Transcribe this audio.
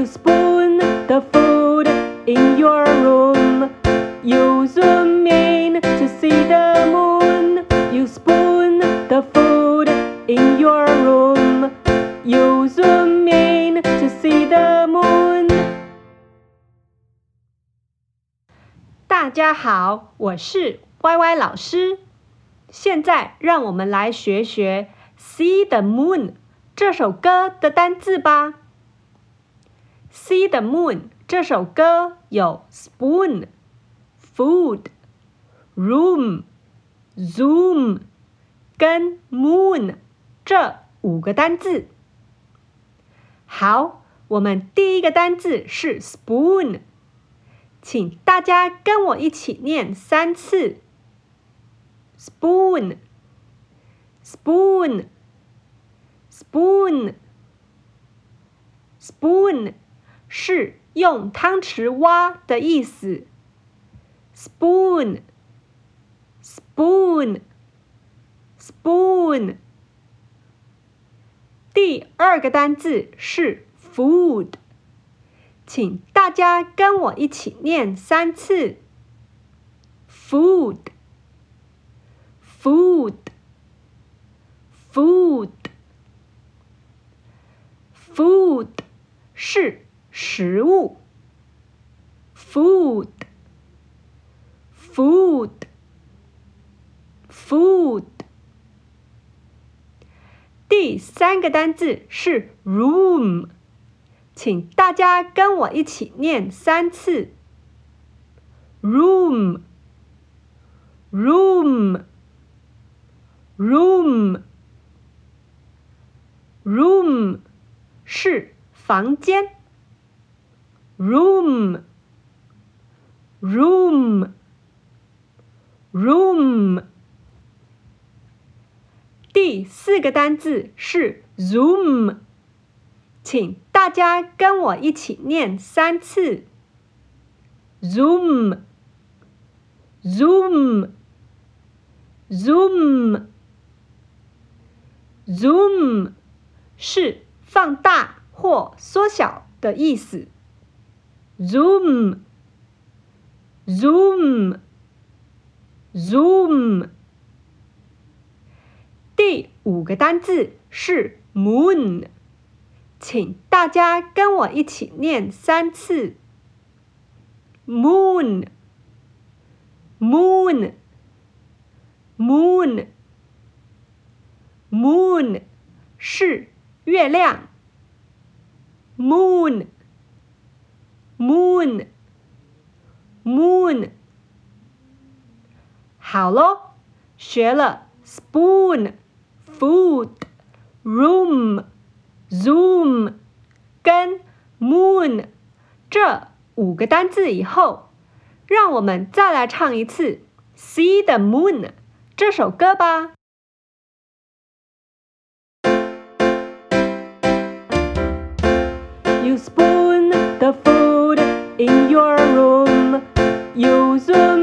You spoon the food in your room. You zoom in to see the moon. You spoon the food in your room. You zoom in to see the moon. 大家好，我是歪歪老師。現在讓我們來學學 See the Moon 這首歌的單字吧。See the Moon 這首歌有 spoon, food, room, zoom 跟 moon 這5個單字。好，我們第一個單字是 spoon， 請大家跟我一起念3次。Spoon, spoon, spoon, spoon 是用湯匙挖的意思。Spoon, spoon, spoon。第2個單字是 food， 請大家跟我一起念3次。Food, food, food, food 是食物。Food, food, food。第3個單字是 room， 請大家跟我一起念3次。Room, room, room, room 是房間。Room, room, room。第4個單字是 zoom， 請大家跟我一起念3次。Zoom, zoom, zoom, zoom 是放大或縮小的意思。Zoom, zoom, zoom。第5個單字是 moon， 請大家跟我一起念3次。Moon, moon, moon, moon 是月亮。Moon, moon, moon。好咯，學了 spoon, food, room, zoom 跟 moon 這5個單字以後，讓我們再來唱一次 See the Moon 這首歌吧。You spoon the food in your room. You zoom